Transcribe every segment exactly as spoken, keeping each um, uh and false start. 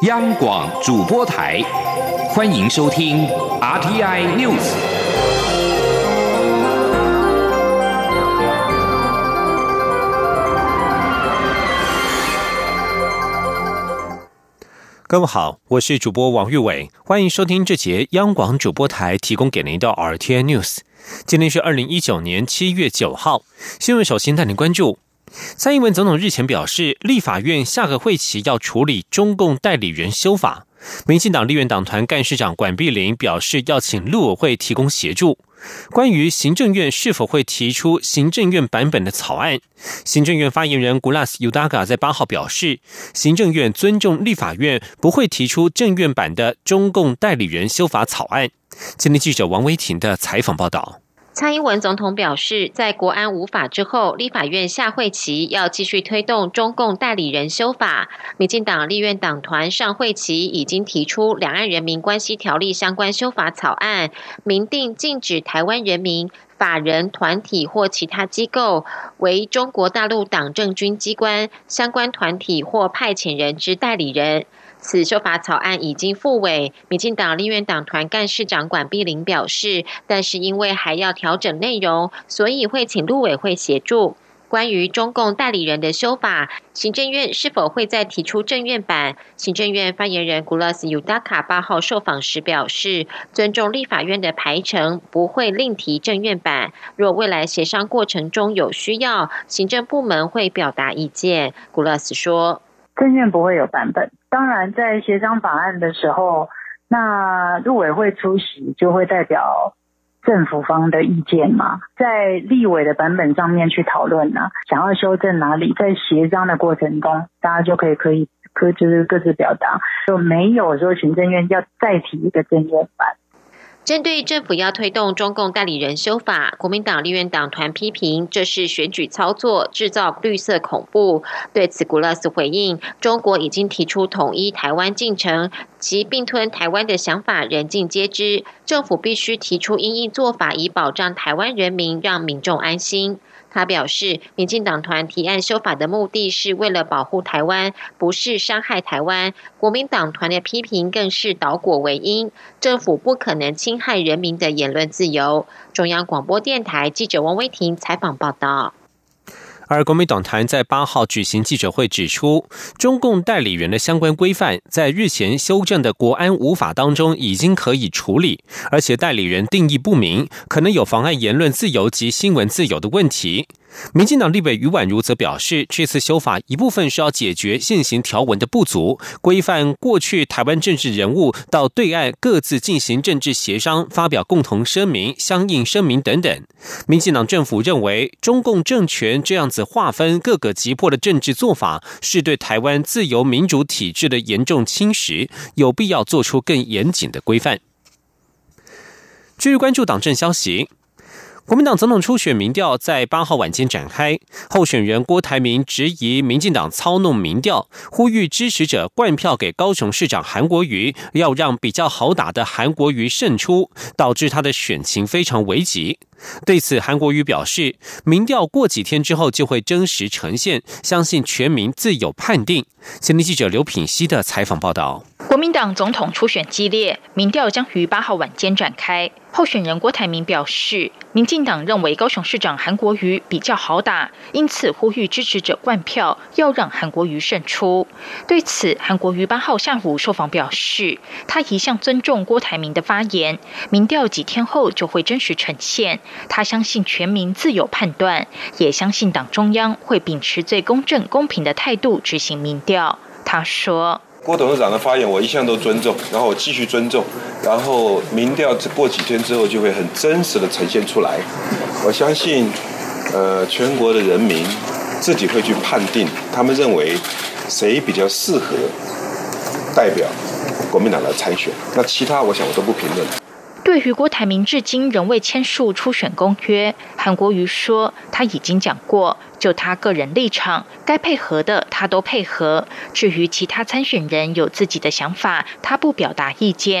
央广主播台，欢迎收听 R T I News。 各位好，我是主播王玉伟，欢迎收听这节央广主播台提供给您的 R T I News。今天是二零一九年七月九号，新闻首先带您关注。蔡英文总统日前表示，立法院下个会期要处理中共代理人修法。民进党立院党团干事长管碧玲表示，要请陆委会提供协助。关于行政院是否会提出行政院版本的草案，行政院发言人 Gulas Yudaga 在八号表示，行政院尊重立法院不会提出政院版的中共代理人修法草案。今天记者王维婷的采访报道。 蔡英文总统表示，在国安无法之后，立法院下会期要继续推动中共代理人修法。民进党立院党团上会期已经提出两岸人民关系条例相关修法草案，明定禁止台湾人民、法人、团体或其他机构为中国大陆党政军机关相关团体或派遣人之代理人。此修法草案已经复委，民进党立院党团干事长管碧玲表示，但是因为还要调整内容，所以会请陆委会协助。关于中共代理人的修法，行政院是否会再提出政院版？行政院发言人 Gulas Yudaga 八号受访时表示，尊重立法院的排程，不会另提政院版。若未来协商过程中有需要，行政部门会表达意见。Gulas 说， 政院不会有版本，当然在协商法案的时候，那陆委会出席就会代表政府方的意见嘛，在立委的版本上面去讨论啊，想要修正哪里，在协商的过程中，大家就可以可以可就是各自表达，就没有说行政院要再提一个政院版。 针对政府要推动中共代理人修法，国民党立院党团批评这是选举操作，制造绿色恐怖。对此，Gulas回应，中国已经提出统一台湾进程，其并吞台湾的想法人尽皆知，政府必须提出因应做法，以保障台湾人民，让民众安心。他表示，民进党团提案修法的目的是为了保护台湾，不是伤害台湾。国民党团的批评更是倒果为因，政府不可能侵害人民的言论自由。中央广播电台记者王威婷采访报道。 而国民党团在八号举行记者会指出，中共代理人的相关规范在日前修正的国安五法当中已经可以处理，而且代理人定义不明，可能有妨碍言论自由及新闻自由的问题。民进党立委余婉如则表示，这次修法一部分是要解决现行条文的不足，规范过去台湾政治人物到对岸各自进行政治协商，发表共同声明、相应声明等等。民进党政府认为，中共政权这样子划分各个击破的政治做法，是对台湾自由民主体制的严重侵蚀，有必要做出更严谨的规范。继续关注党政消息。国民党总统初选民调在八号晚间展开，候选人郭台铭质疑民进党操弄民调，呼吁支持者灌票给高雄市长韩国瑜，要让比较好打的韩国瑜胜出，导致他的选情非常危急。对此，韩国瑜表示，民调过几天之后就会真实呈现，相信全民自有判定。前天记者刘品熙的采访报道。 国民党总统初选激烈，民调将于八号晚间展开。候选人郭台铭表示，民进党认为高雄市长韩国瑜比较好打，因此呼吁支持者灌票，要让韩国瑜胜出。对此，韩国瑜八号下午受访表示，他一向尊重郭台铭的发言，民调几天后就会真实呈现。他相信全民自有判断，也相信党中央会秉持最公正公平的态度执行民调。他说， 郭董事长的发言我一向都尊重，然后我继续尊重，然后民调过几天之后就会很真实的呈现出来。我相信呃，全国的人民自己会去判定，他们认为谁比较适合代表国民党来参选，那其他我想我都不评论。 对于郭台铭至今仍未签署初选公约，韩国瑜说他已经讲过，就他个人立场，该配合的他都配合，至于其他参选人有自己的想法，他不表达意见。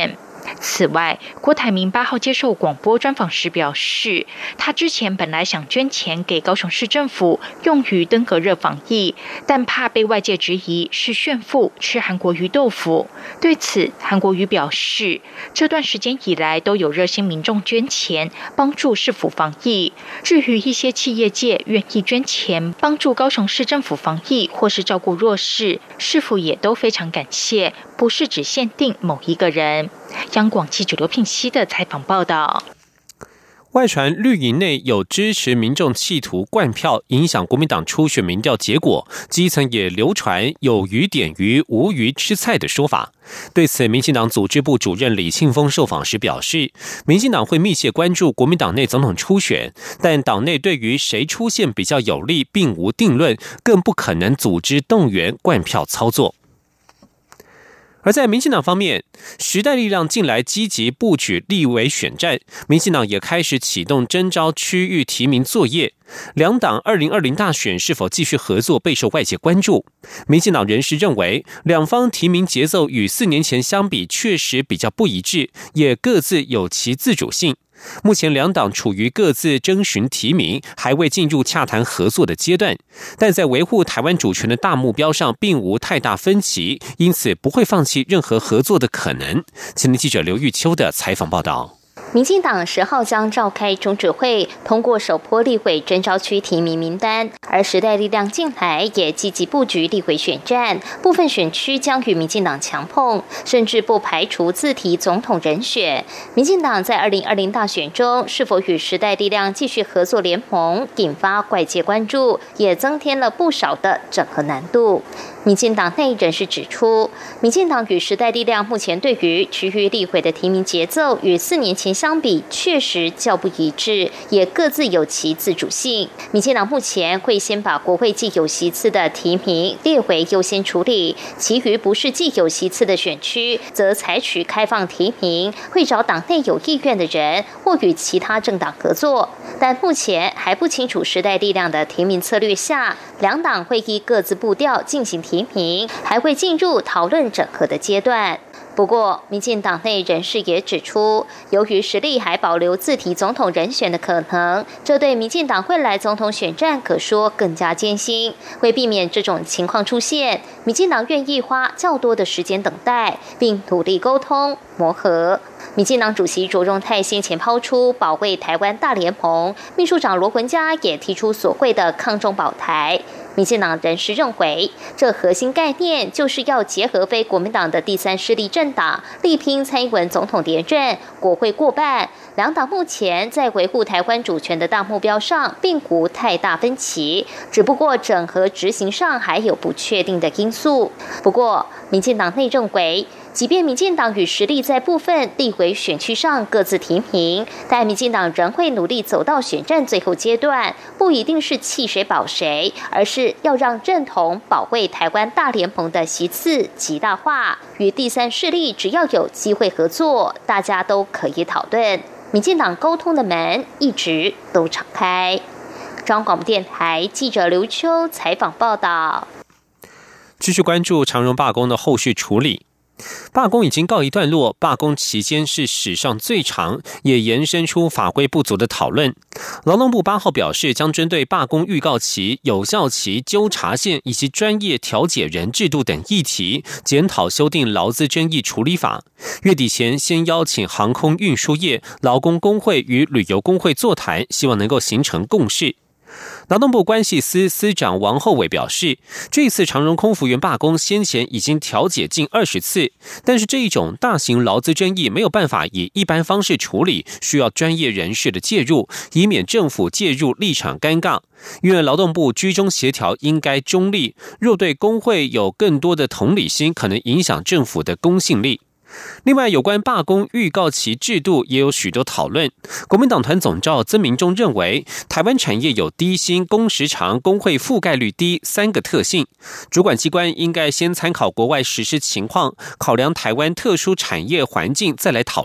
此外，郭台铭八号接受广播专访时表示，他之前本来想捐钱给高雄市政府用于登革热防疫，但怕被外界质疑是炫富吃韩国瑜豆腐。对此，韩国瑜表示，这段时间以来都有热心民众捐钱帮助市府防疫，至于一些企业界愿意捐钱帮助高雄市政府防疫或是照顾弱势，市府也都非常感谢，不是只限定某一个人。央广记者刘聘熙的采访报道。 外传绿营内有支持民众企图灌票影响国民党初选民调结果，基层也流传有鱼点鱼无鱼吃菜的说法。对此，民进党组织部主任李庆丰受访时表示，民进党会密切关注国民党内总统初选，但党内对于谁出现比较有利并无定论，更不可能组织动员灌票操作。而在民进党方面，时代力量近来积极布局立委选战，民进党也开始启动征召区域提名作业。两党二零二零大选是否继续合作备受外界关注。民进党人士认为，两方提名节奏与四年前相比确实比较不一致，也各自有其自主性。目前两党处于各自征询提名，还未进入洽谈合作的阶段，但在维护台湾主权的大目标上并无太大分歧，因此不会放弃任何合作的可能。前天记者刘玉秋的采访报道。 民进党十号将召开中指会，通过首波立委征召区提名名单，而时代力量近来也积极布局立委选战，部分选区将与民进党强碰，甚至不排除自提总统人选。民进党在二零二零大选中是否与时代力量继续合作联盟，引发外界关注，也增添了不少的整合难度。民进党内人士指出，民进党与时代力量目前对于区域立委的提名节奏与四年前相比确实较不一致，也各自有其自主性。民进党目前会先把国会既有席次的提名列为优先处理，其余不是既有席次的选区，则采取开放提名，会找党内有意愿的人或与其他政党合作。但目前还不清楚时代力量的提名策略下，两党会依各自步调进行提名，还会进入讨论整合的阶段。不过，民进党内人士也指出，由于实力还保留自提总统人选的可能，这对民进党未来总统选战可说更加艰辛。为避免这种情况出现，民进党愿意花较多的时间等待，并努力沟通磨合。民进党主席卓荣泰先前抛出保卫台湾大联盟，秘书长罗文嘉也提出所谓的抗中保台。民进党人士认为，这核心概念就是要结合非国民党的第三势力政党，力拼蔡英文总统连任，国会过半。两党目前在维护台湾主权的大目标上并无太大分歧，只不过整合执行上还有不确定的因素。不过，民进党内认为，即便民进党与时力在部分立委选区上各自提名，但民进党仍会努力走到选战最后阶段，不一定是弃谁保谁，而是要让认同保卫台湾大联盟的席次极大化，与第三势力只要有机会合作，大家都可以讨论。民进党沟通的门一直都敞开。中央广播电台记者刘秋采访报道。 继续关注长荣罢工的后续处理。罢工已经告一段落，罢工期间是史上最长，也延伸出法规不足的讨论。劳动部八号表示，将针对罢工预告期、有效期、纠察线以及专业调解人制度等议题，检讨修订劳资争议处理法。月底前先邀请航空运输业、劳工工会与旅游工会座谈，希望能够形成共识。劳动部关系司司长王厚伟表示，这次长荣空服员罢工先前已经调解近二十次，但是这一种大型劳资争议没有办法以一般方式处理，需要专业人士的介入，以免政府介入立场尴尬。因为劳动部居中协调应该中立，若对工会有更多的同理心，可能影响政府的公信力。另外，有关罢工预告期制度也有许多讨论。国民党团总召曾明忠认为，台湾产业有低薪、工时长、工会覆盖率低三个特性，主管机关应该先参考国外实施情况，考量台湾特殊产业环境，再来讨论。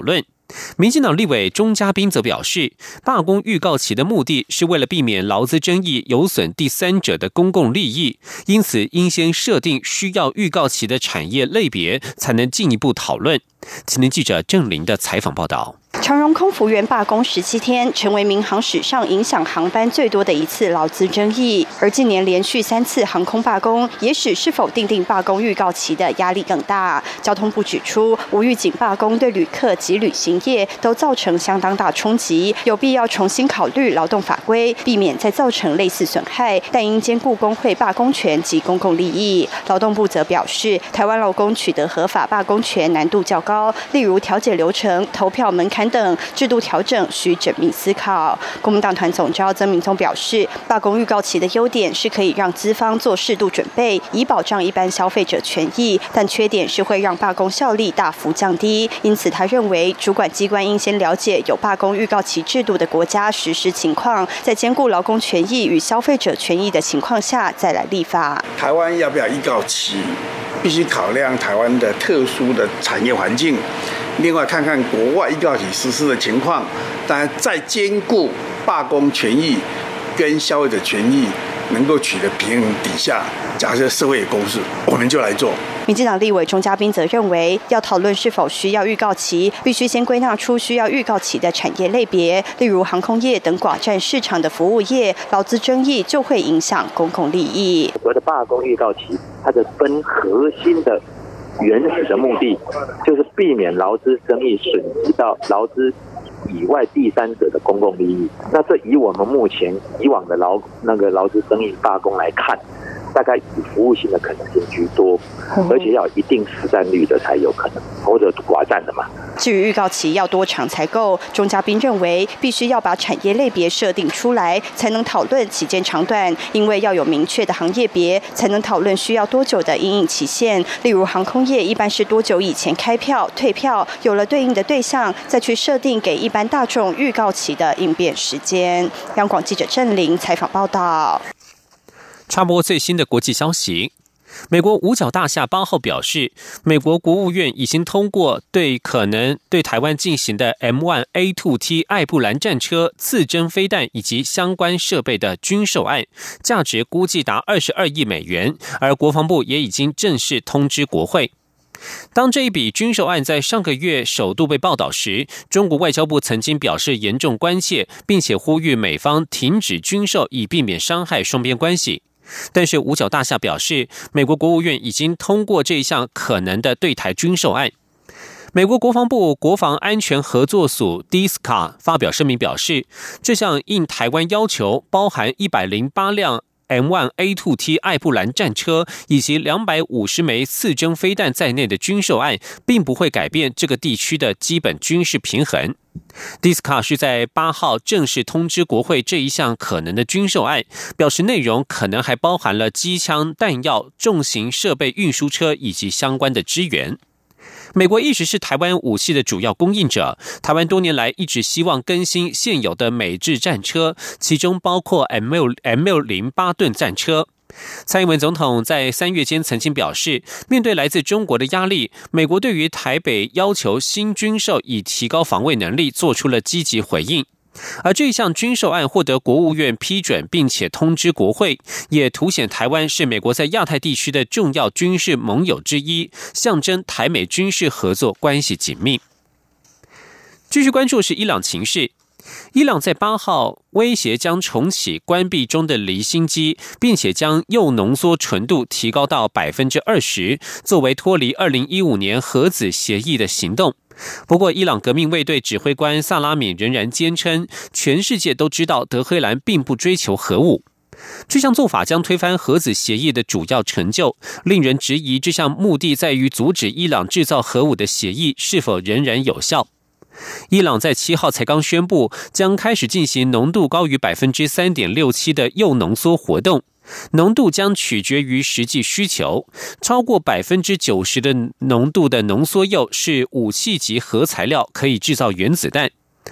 民进党立委钟嘉宾则表示，罢工预告期的目的是为了避免劳资争议有损第三者的公共利益，因此应先设定需要预告期的产业类别，才能进一步讨论。青年记者郑玲的采访报道。 长荣空服员罢工十七天，成为民航史上影响航班最多的一次劳资争议。而近年连续三次航空罢工，也使是否订定罢工预告期的压力更大。交通部指出，无预警罢工对旅客及旅行业都造成相当大冲击，有必要重新考虑劳动法规，避免再造成类似损害，但应兼顾工会罢工权及公共利益。劳动部则表示，台湾劳工取得合法罢工权难度较高，例如调解流程、投票门槛等制度调整需缜密思考。国民党团总召曾明宗表示，罢工预告期的优点是可以让资方做适度准备，以保障一般消费者权益，但缺点是会让罢工效力大幅降低。因此，他认为主管机关应先了解有罢工预告期制度的国家实施情况，在兼顾劳工权益与消费者权益的情况下再来立法。 台湾要不要预告期，必须考量台湾的特殊的产业环境，另外看看国外预告期实施的情况，当然在兼顾罢工权益跟消费者权益能够取得平衡底下，假设社会有共识，我们就来做。 民进党立委钟嘉宾则认为，要讨论是否需要预告期，必须先归纳出需要预告期的产业类别，例如航空业等寡占市场的服务业，劳资争议就会影响公共利益。 所谓的罢工预告期，它的分核心的原始的目的，就是避免劳资争议损及到劳资以外第三者的公共利益。那这以我们目前以往的劳那个劳资争议罢工来看，大概以服务性的可能性居多，而且要有一定实战率的才有可能，或者寡占的嘛。 至于预告期要多长才够，钟嘉宾认为必须要把产业类别设定出来，才能讨论期间长短，因为要有明确的行业别，才能讨论需要多久的因应期限。例如航空业一般是多久以前开票、退票，有了对应的对象，再去设定给一般大众预告期的应变时间。央广记者郑玲采访报道。 插播最新的国际消息，美国五角大厦八号表示，美国国务院已经通过对可能对台湾进行的 M 一 A 二 T 艾布兰战车、刺针飞弹以及相关设备的军售案，价值估计达二十二亿美元，而国防部也已经正式通知国会。当这一笔军售案在上个月首度被报道时，中国外交部曾经表示严重关切，并且呼吁美方停止军售，以避免伤害双边关系。但是五角大厦表示，美国国务院已经通过这一项可能的对台军售案。美国国防部国防安全合作署 D I S C A 发表声明表示，这项应台湾要求包含一百零八辆 M 一 A 二 T 艾布兰战车以及两百五十枚刺针飞弹在内的军售案，并不会改变这个地区的基本军事平衡。D I S C A 是在八号正式通知国会这一项可能的军售案，表示内容可能还包含了机枪、弹药、重型设备运输车以及相关的支援。美国一直是台湾武器的主要供应者，台湾多年来一直希望更新现有的美制战车，其中包括 M 六零八 吨战车。蔡英文总统在三月间曾经表示，面对来自中国的压力，美国对于台北要求新军售以提高防卫能力做出了积极回应。而这一项军售案获得国务院批准并且通知国会，也凸显台湾是美国在亚太地区的重要军事盟友之一，象征台美军事合作关系紧密。继续关注是伊朗情势。伊朗在八号威胁将重启关闭中的离心机，并且将铀浓缩纯度提高到 百分之二十， 作为脱离二零一五年核子协议的行动。不过，伊朗革命卫队指挥官萨拉米仍然坚称，全世界都知道德黑兰并不追求核武。这项做法将推翻核子协议的主要成就，令人质疑这项目的在于阻止伊朗制造核武的协议是否仍然有效。伊朗在七号才刚宣布将开始进行浓度高于 百分之三点六七 的铀浓缩活动，浓度将取决于实际需求，超过 百分之九十 的浓度的浓缩铀是武器级核材料，可以制造原子弹。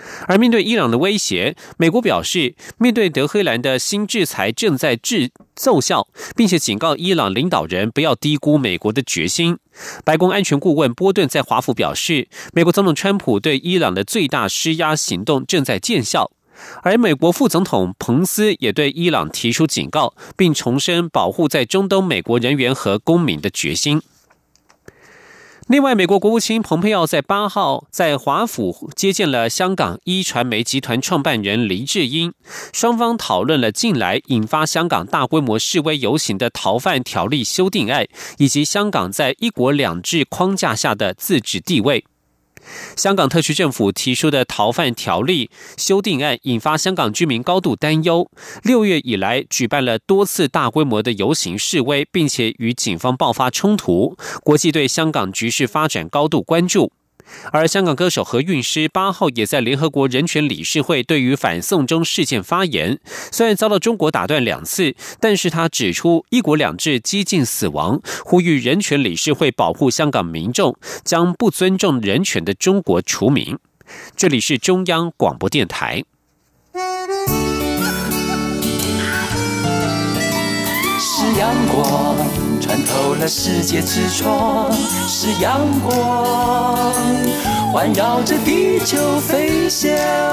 而面对伊朗的威胁，美国表示，面对德黑兰的新制裁正在制奏效，并且警告伊朗领导人不要低估美国的决心。白宫安全顾问波顿在华府表示，美国总统川普对伊朗的最大施压行动正在见效。而美国副总统彭斯也对伊朗提出警告，并重申保护在中东美国人员和公民的决心。另外，美国国务卿蓬佩奥在八号在华府接见了香港一传媒集团创办人黎智英，双方讨论了近来引发香港大规模示威游行的逃犯条例修订案，以及香港在一国两制框架下的自治地位。香港特区政府提出的逃犯条例修订案引发香港居民高度担忧，六月以来举办了多次大规模的游行示威，并且与警方爆发冲突，国际对香港局势发展高度关注。而香港歌手何韵诗八号也在联合国人权理事会对于反送中事件发言，虽然遭到中国打断两次，但是他指出一国两制几近死亡，呼吁人权理事会保护香港民众，将不尊重人权的中国除名。这里是中央广播电台。 是阳光穿透了世界之窗，是阳光环绕着地球飞翔。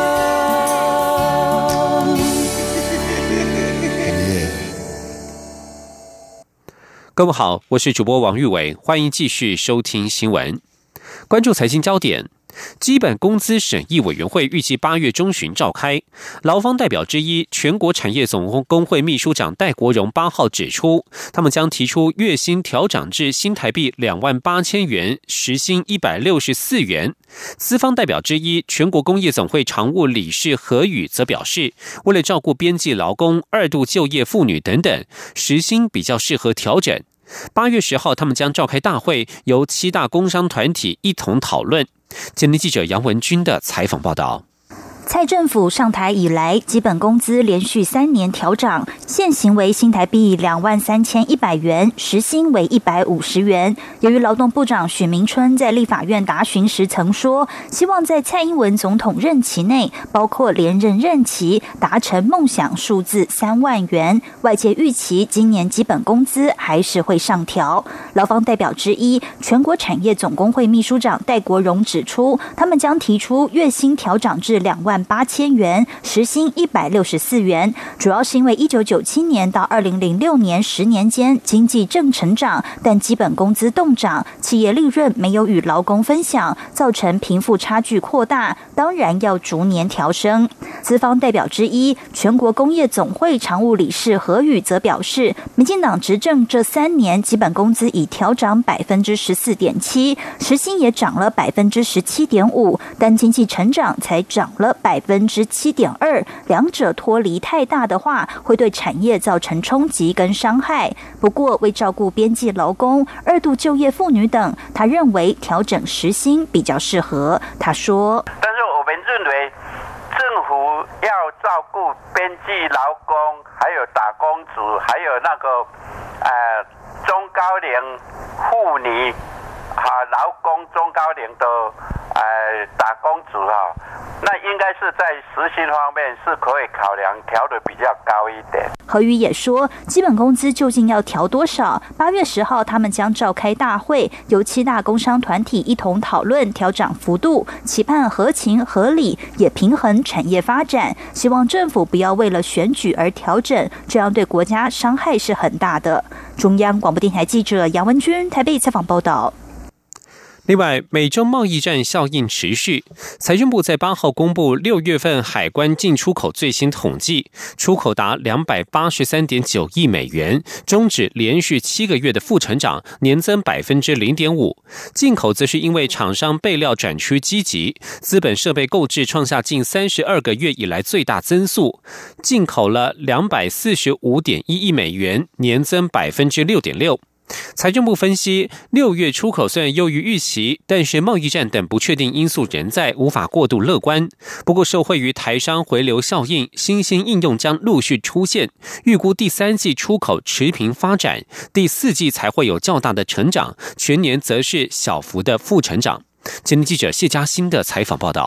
各位好，我是主播王玉伟，欢迎继续收听新闻，关注财经焦点。基本工资审议委员会预计八月中旬召开，劳方代表之一全国产业总工会秘书长戴国荣八号指出，他们将提出月薪调涨至新台币两万八千元，时薪一百六十四元。资方代表之一全国工业总会常务理事何宇则表示，为了照顾边际劳工、二度就业妇女等等，时薪比较适合调整。八月十号，他们将召开大会，由七大工商团体一同讨论。前天记者杨文君的采访报道。 蔡政府上台以来，基本工资连续三年调涨，现行为新台币两万三千一百元，时薪为一百五十元。由于劳动部长许明春在立法院答询时曾说，希望在蔡英文总统任期内，包括连任任期，达成梦想数字三万元。外界预期今年基本工资还是会上调。劳方代表之一，全国产业总工会秘书长戴国荣指出，他们将提出月薪调涨至两万八千元，时薪一百六十四元，主要是因为一九九七年到二零零六年十年间经济正成长，但基本工资动涨，企业利润没有与劳工分享，造成贫富差距扩大，当然要逐年调升。资方代表之一，全国工业总会常务理事何宇则表示，民进党执政这三年，基本工资已调涨百分之十四点七，时薪也涨了百分之十七点五，但经济成长才涨了百分之七点二，两者脱离太大的话，会对产业造成冲击跟伤害。不过，为照顾边际劳工、二度就业妇女等，他认为调整时薪比较适合。他说：“ 但是我们认为，政府要照顾边际劳工，还有打工族，还有那个呃中高龄妇女啊，劳工中高龄的呃打工族啊。”那应该是在时薪方面是可以考量调的比较高一点。 何宇也说，基本工资究竟要调多少？八月十号他们将召开大会，由七大工商团体一同讨论调涨幅度，期盼合情合理，也平衡产业发展。希望政府不要为了选举而调整，这样对国家伤害是很大的。中央广播电台记者杨文君台北采访报道。 另外，美中贸易战效应持续。财政部在八号公布六月份海关进出口最新统计，出口达两百八十三点九亿美元，终止连续七个月的负成长，年增百分之零点五。进口则是因为厂商备料转趋积极，资本设备购置创下近三十二个月以来最大增速，进口了两百四十五点一亿美元，年增百分之六点六。财政部分析，六月出口虽然优于预期，但是贸易战等不确定因素仍在，无法过度乐观。不过受惠于台商回流效应，新兴应用将陆续出现，预估第三季出口持平发展，第四季才会有较大的成长，全年则是小幅的负成长。前天记者谢嘉欣的采访报道。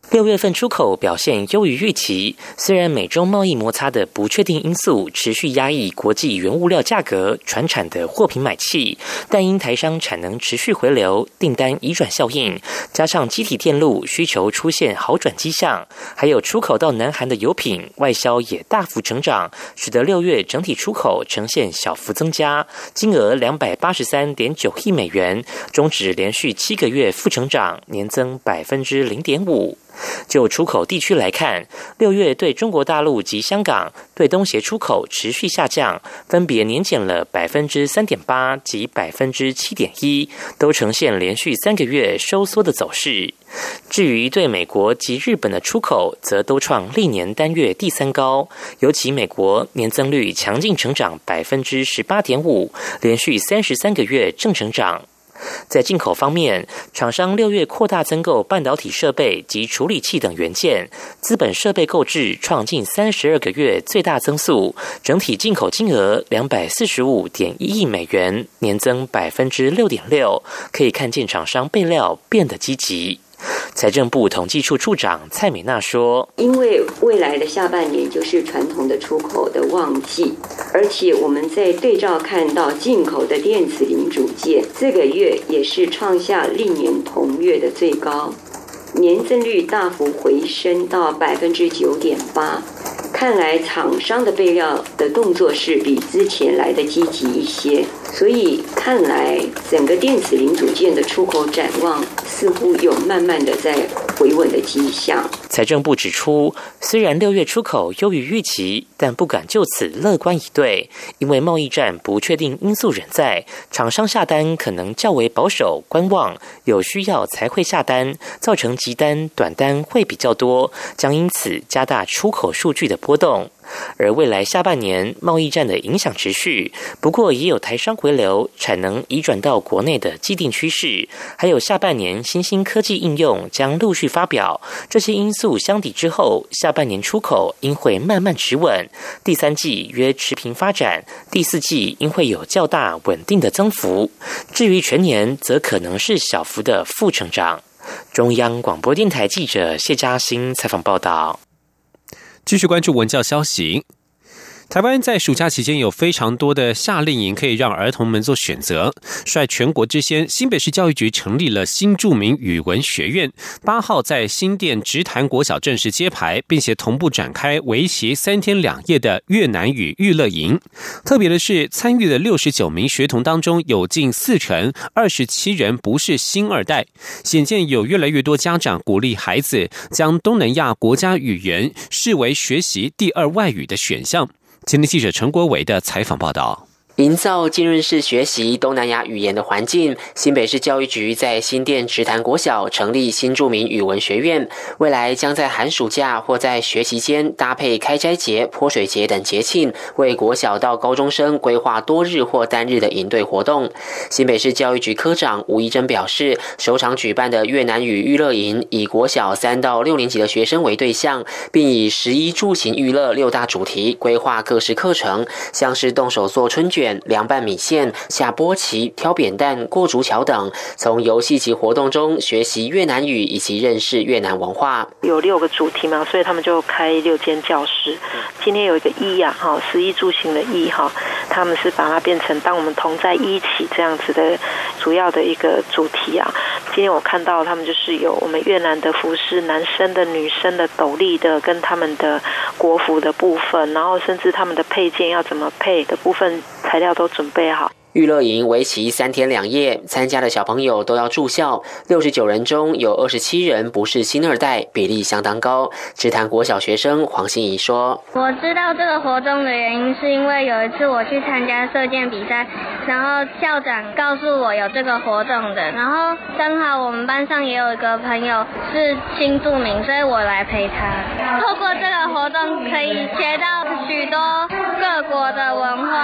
六月份出口表现优于预期，虽然美中贸易摩擦的不确定因素持续压抑国际原物料价格、传产的货品买气，但因台商产能持续回流、订单移转效应，加上机体电路需求出现好转迹象，还有出口到南韩的油品外销也大幅成长，使得六月整体出口呈现小幅增加，金额两百八十三点九亿美元，终止连续七个月负成长，年增百分之零点五。就出口地区来看，六月对中国大陆及香港对东协出口持续下降，分别年减了百分之三点八及百分之七点一，都呈现连续三个月收缩的走势。至于对美国及日本的出口，则都创历年单月第三高，尤其美国年增率强劲成长百分之十八点五，连续三十三个月正成长。在进口方面，厂商六月扩大增购半导体设备及处理器等元件，资本设备购置创近三十二个月最大增速，整体进口金额两百四十五点一亿美元，年增百分之六点六，可以看见厂商备料变得积极。财政部统计处处长蔡美娜说， 因为未来的下半年就是传统的出口的旺季，而且我们在对照看到进口的电子零组件，这个月也是创下历年同月的最高，年增率大幅回升到百分之九点八。看来厂商的备料的动作是比之前来的积极一些，所以看来整个电子零组件的出口展望似乎有慢慢的在回稳的迹象。 财政部指出，虽然六月出口优于预期，但不敢就此乐观以对，因为贸易战不确定因素仍在，厂商下单可能较为保守观望，有需要才会下单，造成急单短单会比较多，将因此加大出口数据的波动。而未来下半年贸易战的影响持续，不过也有台商回流、产能移转到国内的既定趋势，还有下半年新兴科技应用将陆续发表，这些因素相抵之后，下半年出口应会慢慢持稳，第三季约持平发展，第四季应会有较大稳定的增幅，至于全年则可能是小幅的负成长。中央广播电台记者谢嘉欣采访报道。 继续关注文教消息。台湾在暑假期间有非常多的夏令营可以让儿童们做选择。率全国之先，新北市教育局成立了新著名语文学院，八号在新店直潭国小正式揭牌，并且同步展开为期三天两夜的越南语育乐营。特别的是，参与的六十九名学童当中，有近四成二十七人不是新二代，显见有越来越多家长鼓励孩子将东南亚国家语言视为学习第二外语的选项。今天记者陈国伟的采访报道。 营造浸润式学习东南亚语言的环境，新北市教育局在新店直潭国小成立新著名语文学院，未来将在寒暑假或在学期间搭配开斋节、泼水节等节庆，为国小到高中生规划多日或单日的营队活动。新北市教育局科长吴怡珍表示，首场举办的越南语育乐营以国小三到六年级的学生为对象，并以食衣住行娱乐六大主题规划各式课程，像是动手做春卷、凉拌米线、下波旗、挑扁担、过竹桥等，从游戏及活动中学习越南语以及认识越南文化。 有六个主题嘛，所以他们就开六间教室。今天有一个一啊，哈，食衣住行的一哈，他们是把它变成当我们同在一起这样子的主要的一个主题啊。今天我看到他们就是有我们越南的服饰、男生的、女生的、斗笠的，跟他们的国服的部分，然后甚至他们的配件要怎么配的部分，材料都准备好。 育乐营为期三天两夜，参加的小朋友都要住校。六十九人中有二十七人不是新二代，比例相当高。直潭国小学生黄心怡说：“ 我知道这个活动的原因，是因为有一次我去参加射箭比赛，然后校长告诉我有这个活动的，然后刚好我们班上也有一个朋友是新住民，所以我来陪他。透过这个活动，可以学到许多各国的文化。”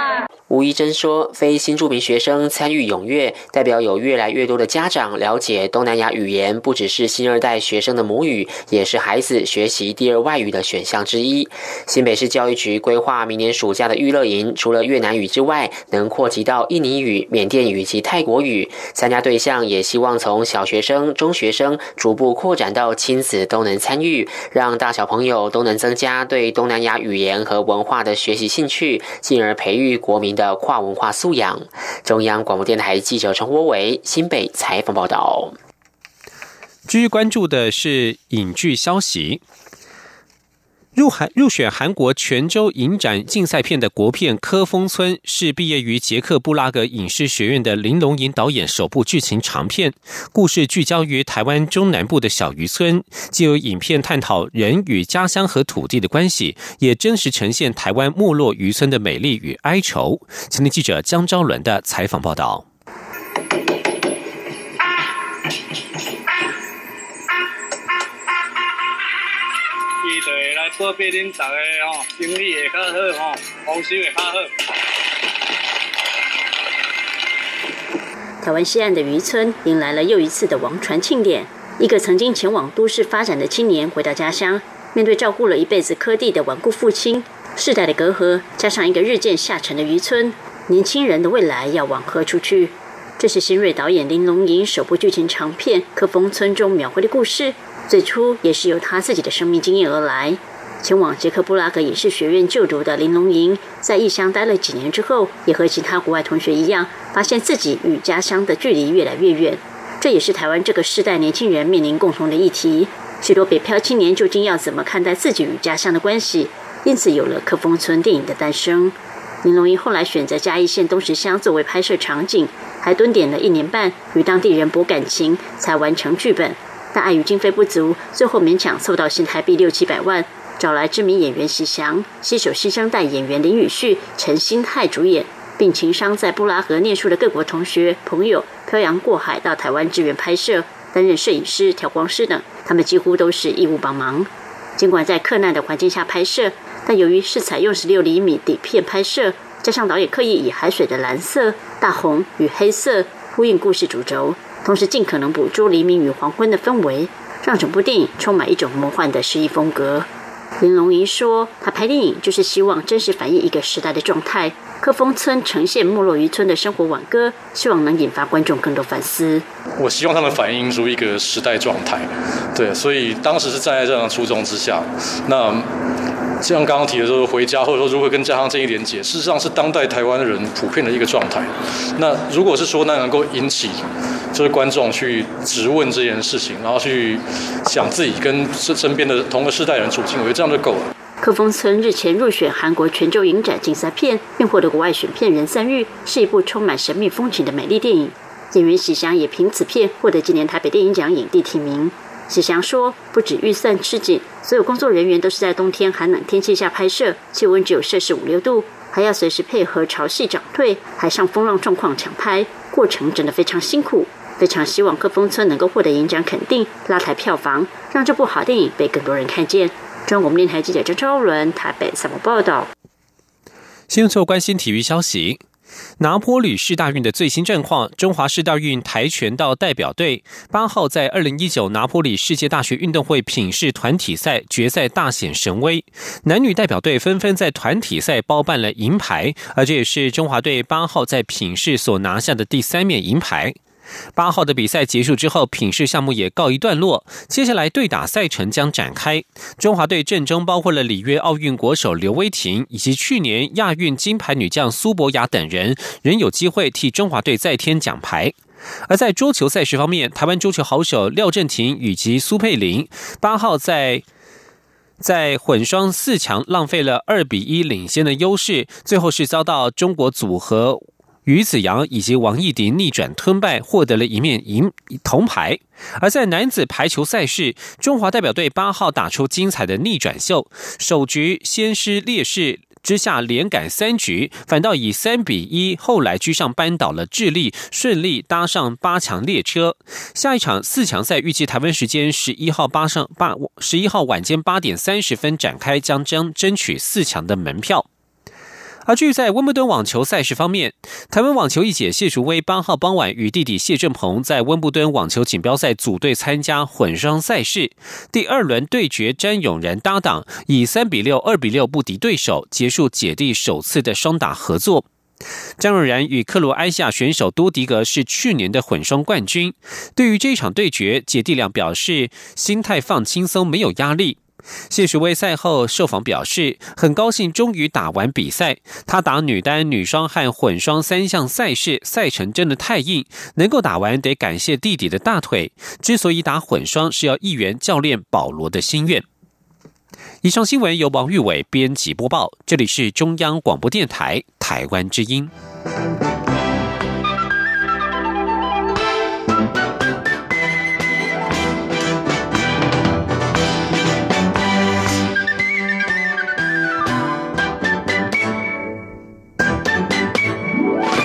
吴怡珍说，非新住民学生参与踊跃，代表有越来越多的家长了解东南亚语言不只是新二代学生的母语，也是孩子学习第二外语的选项之一。新北市教育局规划明年暑假的育乐营，除了越南语之外，能扩及到印尼语、缅甸语及泰国语。参加对象也希望从小学生、中学生逐步扩展到亲子都能参与，让大小朋友都能增加对东南亚语言和文化的学习兴趣，进而培育国民的跨文化素养。中央广播电台记者陈国伟新北采访报道。 继续关注的是影剧消息。入韩入选韩国全州影展竞赛片的国片《科峰村》是毕业于捷克布拉格影视学院的林龙吟导演首部剧情长片，故事聚焦于台湾中南部的小渔村，藉由影片探讨人与家乡和土地的关系，也真实呈现台湾没落渔村的美丽与哀愁。前天记者江昭伦的采访报道。 就会来保庇恁大家吼，生意会较好吼，丰收会较好。 台湾西岸的渔村迎来了又一次的王船庆典。一个曾经前往都市发展的青年回到家乡，面对照顾了一辈子科地的顽固父亲，世代的隔阂，加上一个日渐下沉的渔村，年轻人的未来要往何处去？这是新锐导演林龙吟首部剧情长片《科峰村》中描绘的故事。最初也是由他自己的生命经验而来。前往捷克布拉格影视学院就读的林龙吟，在异乡待了几年之后，也和其他国外同学一样，发现自己与家乡的距离越来越远。这也是台湾这个世代年轻人面临共同的议题。许多北漂青年究竟要怎么看待自己与家乡的关系？因此有了《科峰村》电影的诞生。林龙吟后来选择嘉义县东石乡作为拍摄场景，还蹲点了一年半，与当地人博感情，才完成剧本。但碍于经费不足，最后勉强凑到新台币六七百万，找来知名演员喜翔，携手新生代演员林宇旭、陈星泰主演，并情商在布拉格念书的各国同学朋友漂洋过海到台湾支援拍摄，担任摄影师、调光师等，他们几乎都是义务帮忙。尽管在克难的环境下拍摄，但由于是采用十六厘米底片拍摄，加上导演刻意以海水的蓝色、大红与黑色呼应故事主轴，同时尽可能捕捉黎明与黄昏的氛围，让整部电影充满一种魔幻的诗意风格。林龙吟说，他拍电影就是希望真实反映一个时代的状态。科峰村呈现没落渔村的生活挽歌，希望能引发观众更多反思。 我希望他们反映出一个时代状态，对，所以当时是站在这样的初衷之下。那像刚刚提的说回家，或者说如何跟家乡建立连结，事实上是当代台湾人普遍的一个状态。那如果是说那能够引起就是观众去质问这件事情，然后去想自己跟身边的同个世代人处境，我觉得这样就够了。 科峰村日前入选韩国全州影展竞赛片，并获得国外选片人赞誉，是一部充满神秘风情的美丽电影。演员喜翔也凭此片获得今年台北电影奖影帝提名。喜翔说，不止预算吃紧，所有工作人员都是在冬天寒冷天气下拍摄，气温只有摄氏五六度，还要随时配合潮汐涨退、海上风浪状况抢拍，过程真的非常辛苦。非常希望科峰村能够获得影展肯定，拉抬票房，让这部好电影被更多人看见。中央广播电台记者张昭伦台北采访报道。 新闻最后关心体育消息。拿坡里世大运的最新战况，中华世大运跆拳道代表队八号在二零一九拿坡里世界大学运动会品试团体赛决赛大显神威，男女代表队纷纷在团体赛包办了银牌，而这也是中华队八号在品试所拿下的第三面银牌。八号的比赛结束之后，品试项目也告一段落，接下来对打赛程将展开。中华队阵中包括了里约奥运国手刘威婷以及去年亚运金牌女将苏博雅等人，仍有机会替中华队再添奖牌。而在桌球赛事方面，台湾桌球好手廖振廷以及苏佩玲八号在在混双四强浪费了二比一领先的优势，最后是遭到中国组合于子洋以及王艺迪逆转吞败，获得了一面银铜牌。而在男子排球赛事，中华代表队八号打出精彩的逆转秀，首局先失劣势之下连赶三局，反倒以三比一后来居上扳倒了智利，顺利搭上八强列车。下一场四强赛预计台湾时间十一号八上八十一号晚间八点三十分展开，将将争取四强的门票。 而至于在温布顿网球赛事方面，台湾网球一姐谢淑薇八号傍晚与弟弟谢振鹏在温布顿网球锦标赛组队参加混双赛事，第二轮对决詹永然搭档，以三比六、二比六不敌对手，结束姐弟首次的双打合作。张永然与克罗埃西亚选手多迪格是去年的混双冠军。对于这一场对决，姐弟俩表示心态放轻松，没有压力。谢淑薇赛后受访表示，很高兴终于打完比赛。她打女单、女双和混双三项赛事，赛程真的太硬，能够打完得感谢弟弟的大腿。之所以打混双，是要一圆教练保罗的心愿。以上新闻由王玉伟编辑播报，这里是中央广播电台台湾之音。